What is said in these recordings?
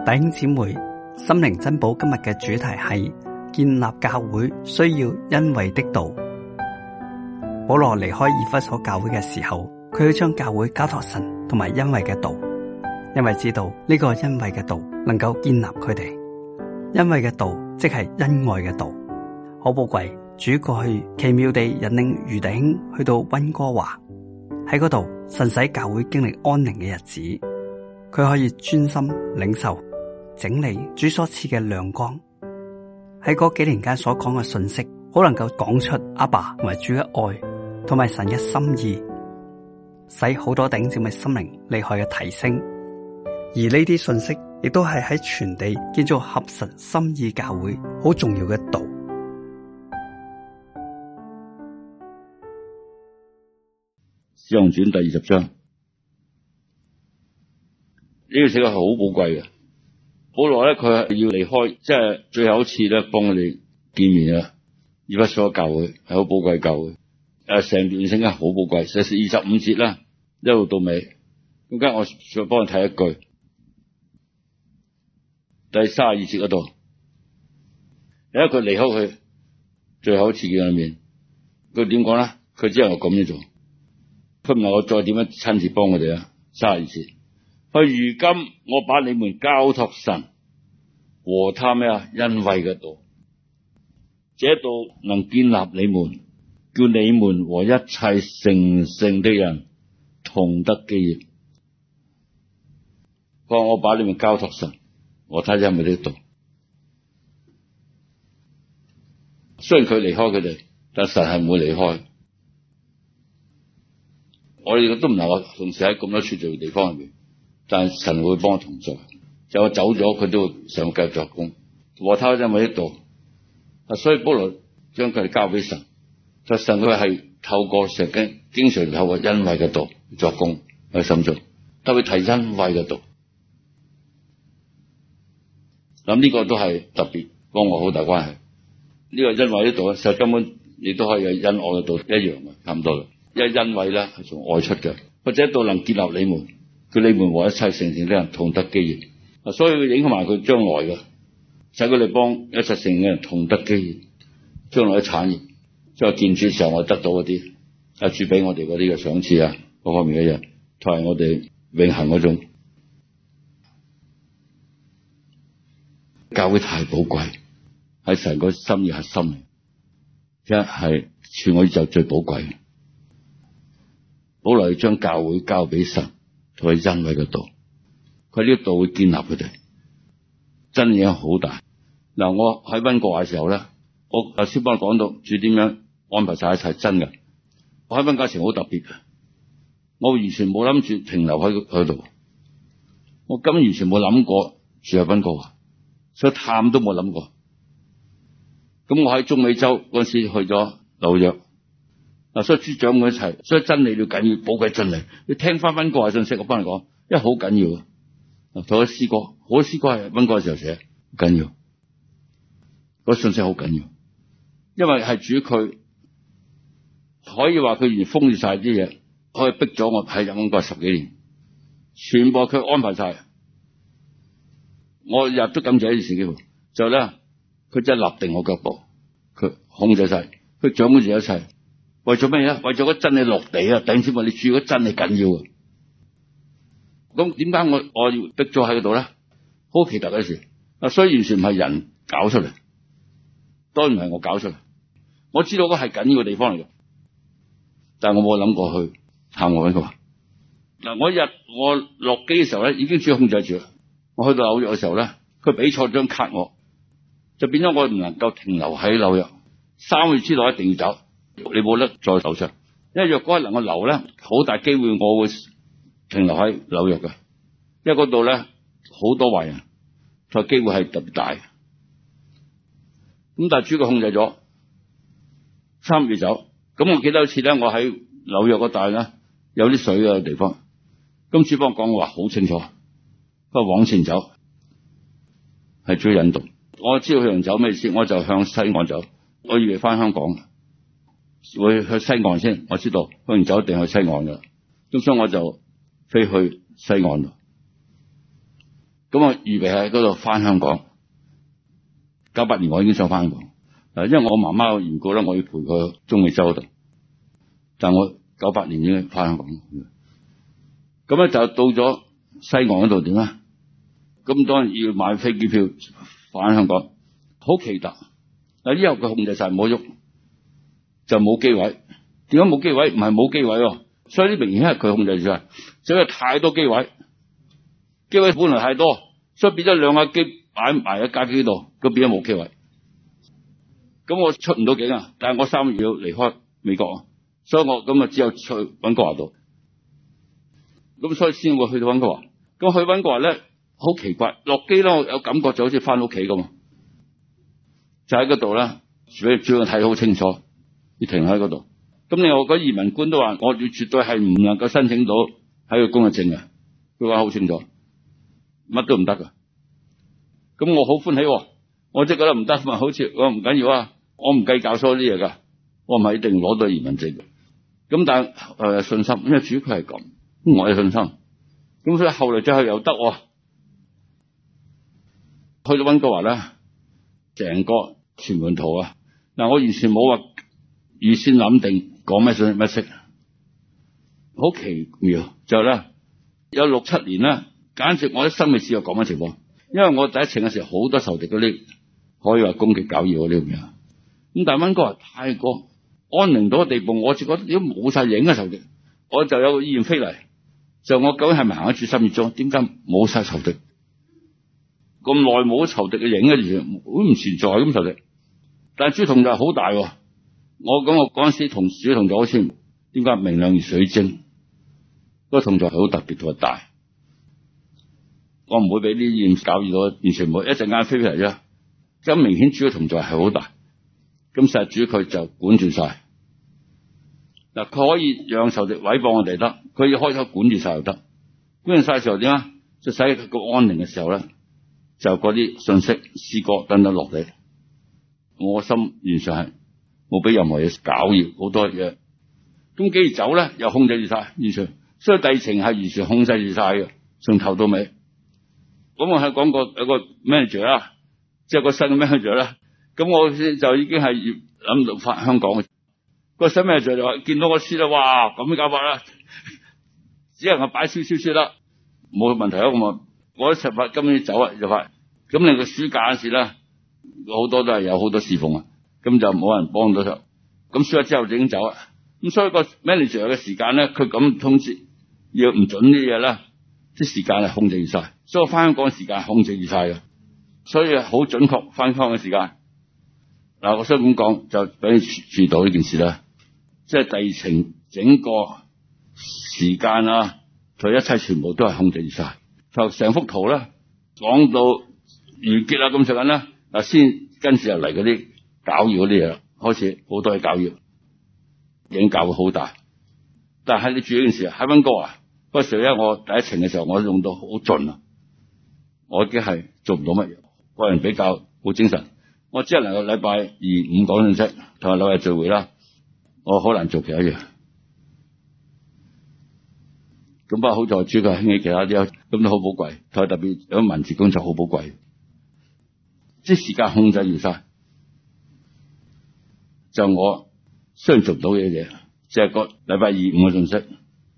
弟兄姊妹，心靈珍寶今日嘅主題係建立教會需要恩惠的道。保羅離開以弗所教會嘅時候，佢要將教會交託神同埋恩惠嘅道，因為知道呢個恩惠嘅道能夠建立佢哋。恩惠嘅道即係恩愛嘅道，好寶貴。主過去奇妙地引領余弟兄去到溫哥華，喺嗰度神使教會經歷安寧嘅日子，佢可以專心領受整理主所賜嘅亮光。喺嗰幾年間所講嘅信息，好能夠講出阿爸同埋主嘅愛，同埋神嘅心意，使好多弟兄姊妹心靈厲害嘅提升。而呢啲信息亦都係喺全地建造合神心意教會好重要嘅道。 使徒行傳第20章，呢個寫嘅係好寶貴嘅。保羅咧，佢係要離開，即係最後一次咧，幫我哋見面啊！以弗所教會係好寶貴教會，成段聖經好寶貴，寫25節啦，一路到尾。咁家我再幫你睇一句，第32節嗰度，因為佢離開佢最後一次見面，佢點講咧？佢只能夠咁樣做。佢唔能夠再點樣親自幫我哋啊！32節，佢如今我把你們交託神和他咩啊？恩惠嘅道，這道能建立你們，叫你們和一切成聖的人同得基業。佢話我把你們交託神和他恩惠的道。雖然佢離開佢哋，但神係唔會離開。我哋都唔能夠同時喺咁多處罪嘅地方入面，但係神會幫我同在。就我走咗，佢都會想繼續作工。和他恩惠的道，所以保羅將佢哋交俾神。就神佢係透過聖經，經常透過恩惠嘅道作工喺心中，特別提恩惠嘅道。咁呢個都係特別幫我好大關係。呢個恩惠的道咧，實根本亦都可以有恩愛嘅道一樣嘅，差唔多啦。因為恩惠咧係從愛出嘅，或者道能建立你們，叫你們和一切成聖的人同得基業。所以佢影響埋佢將來嘅，使佢哋幫一切成聖嘅人同得基業，將來嘅產業，即係見主時候我得到嗰啲，主俾我哋嗰啲嘅賞賜啊，各方面嘅嘢，同埋我哋永恆嗰種教會太寶貴，喺神個心意核心，一係全個宇宙最寶貴。保羅要將教會交俾神同佢恩惠嘅道，佢呢個道會建立佢哋，真影響好大。嗱，我喺溫哥華嘅時候咧，我頭先幫我講到主點樣安排晒一切，真嘅。我喺溫哥華時好特別嘅，我完全冇諗住停留喺佢度，我根本完全冇諗過住喺溫哥華，所以探都冇諗過。咁我喺中美洲嗰陣時去咗紐約。嗱，所以主長佢一齊，所以真理要緊要，寶貴真理。你聽翻溫哥華信息，我幫你講，因為好緊要啊。同佢詩歌，好多詩歌係溫哥華時候寫，好緊要。嗰信息好緊要，因為係主佢可以話佢完全封住晒啲嘢，可以逼咗我喺溫哥華10幾年，全部佢安排晒。我日都感謝呢件事機會，就咧佢真係立定我腳步，佢控制晒，佢掌管住一切。為咗咩嘢？為咗嗰真理落地啊！頂先話你住嗰真理緊要啊！咁點解我要逼咗喺嗰度咧？好奇特嘅事啊！所以完全唔係人搞出嚟，當然唔係我搞出嚟。我知道嗰係緊要嘅地方嚟嘅，但係我冇諗過去探我呢個。嗱，我落機嘅時候咧，已經主控制住啦。我去到紐約嘅時候咧，佢俾錯張卡我，就變咗我唔能夠停留喺紐約，3個月之內一定要走。你冇得再留上，因為若果能夠留咧，好大機會我會停留喺紐約嘅，因為嗰度咧好多壞人，所以機會係特別大。咁但係主佢控制咗3月走，咁我記得有次咧，我喺紐約嗰帶咧有啲水嘅地方，咁主幫我講嘅話好清楚，不過往前走係主引導，我知道佢向走咩意思，我就向西岸走，我以為翻香港。會去西岸先，我知道去完走一定去西岸噶，咁所以我就飛去西岸度。 咁我預備喺嗰度翻香港。98年我已經想翻香港，因為我媽媽嘅緣故咧，我要陪佢去中美洲度。但我98年已經翻香港。咁咧就到咗西岸嗰度點啊？咁當然要買飛機票翻香港，好奇特。嗱，之後佢控制晒冇喐，就冇機位。點解冇機位？唔係冇機位喎，所以呢明顯係佢控制住晒，所以太多機位。機位本來太多，所以變咗兩架機擺埋喺架機度，佢變咗冇機位。咁我出唔到境啊！但係我3月要離開美國啊，所以我咁啊只有去溫哥華度。咁所以先會去到溫哥華。咁去溫哥華咧，好奇怪，落機咧我有感覺就好似翻屋企咁，就喺嗰度咧，主要睇好清楚，要停喺嗰度。咁另外嗰移民官都話，我絕對係唔能夠申請到喺個工作證嘅，佢話好清楚，乜都唔得噶。咁我好歡喜，我即係覺得唔得，咪好似我唔緊要啊，我唔計較所有啲嘢噶，我唔係一定攞到移民證嘅。咁但係信心，因為主要佢係咁，我有信心。咁所以後來再去又得，去到溫哥華咧，成個全盤圖啊，嗱我完全冇話預先諗定講咩信乜識，好奇妙就咧有6-7年咧，簡直我一生未試過咁嘅情況。因為我第一程嘅時候好多仇敵嗰啲可以話攻擊搞擾嗰啲咁樣，咁但係溫哥華太過安寧到嘅地步，我就覺得如果冇晒影嘅仇敵，我就有個意願飛嚟，就我究竟係咪行得住心意中？點解冇晒仇敵？咁耐冇仇敵嘅影嘅嘢，好唔存在咁仇敵。但係主同在好大，我嗰陣時同主同在好似點解明亮如水晶？嗰個同在係好特別同埋大。我唔會俾啲意念搞擾到，完全冇，一陣間飛嚟啫。咁明顯主嘅同在係好大。咁實主佢就管住晒。嗱，佢可以讓仇敵毀謗我哋得，佢要開口管住晒又得。管住晒嘅時候點啊？就使佢個安寧嘅時候咧，就嗰啲信息、詩歌等等落嚟。我心完全係冇俾任何嘢搞擾，好多嘢。咁幾時走咧？又控制住晒，完全。所以第二程係完全控制住晒嘅，從頭到尾。咁我係講過有個 manager 啦，即係個新嘅 manager 啦。咁我就已經係諗到返香港嘅。個新 manager 就話見到我輸啦，哇咁樣搞法啦，只能夠擺少少啦，冇問題啊。我一18今年走啊就快。咁你個暑假嗰時咧，好多都係有好多侍奉啊，咁就冇人幫到手。咁輸咗之後就已經走啊。咁所以個 manager 嘅時間咧，佢咁通知要唔準啲嘢咧，啲時間係控制晒。所以我翻香港嘅時間控制住晒嘅，所以好準確翻香港嘅時間。嗱，我想咁講就俾你注到呢件事啦，即係第二程整個時間啊，佢一切全部都係控制住晒。就成幅圖咧講到完結啦咁上緊啦，嗱先跟住入嚟嗰啲搞擾嗰啲嘢啦，開始好多嘢搞擾，影響會好大。但係你注意呢件事喺溫哥華嗰時咧，我第一程嘅時候我用到好盡啊。我已經係做唔到乜嘢，個人比較冇精神。我只係能夠禮拜2、5講信息，同埋禮拜聚會啦。我好難做其他嘢。咁不過好在主佢興起其他啲，咁都好寶貴。同埋特別有文字工作好寶貴，即係時間控制完晒。就我雖然做唔到嘅嘢，即係個禮拜2、5嘅信息，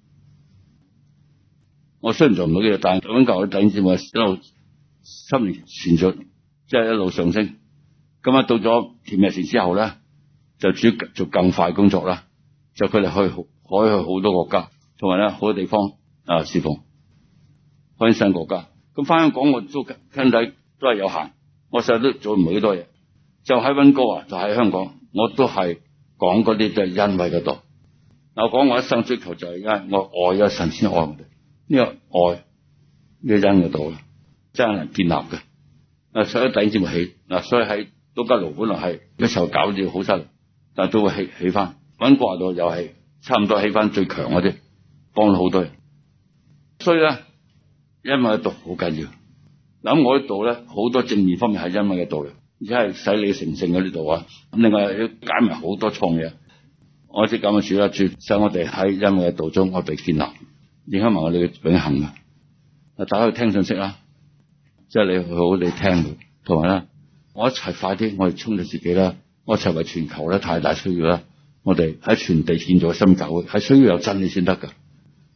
我雖然做唔到嘅嘢，但係咁舊嘅弟兄姊妹一路心靈傳續，即係一路上升。咁啊，到咗甜美城之後咧，就主要做更快工作啦。就佢哋可以去好多國家，同埋咧好多地方侍奉，開新國家。咁翻香港我都身體都係有限，我實在都做唔到幾多嘢。就喺溫哥華，就喺香港，我都係講嗰啲都係恩惠嗰度。我講我一生追求就係因為我愛咗神先愛我哋，呢個愛呢個恩嗰度真係能建立嘅。所以弟兄姊妹起所以喺都吉路本來係一齊搞住好犀利，但係都會起翻。溫哥華度又係差唔多起翻最強嗰啲，幫咗好多人。所以咧，恩惠嘅道好緊要。咁我呢度咧好多正面方面係恩惠嘅道嘅，而且係使你成聖嗰啲度啊。咁另外要解埋好多創嘢。我即咁嘅主啦，主使我哋喺恩惠嘅道中，我哋建立，影響埋我哋嘅永恆嘅。大家去聽信息啦， 即係你好你聽，同埋咧，我一齊快啲，我哋衝到自己啦，我一齊為全球咧太大需要啦，我哋喺全地建造新教會，係需要有真理先得噶。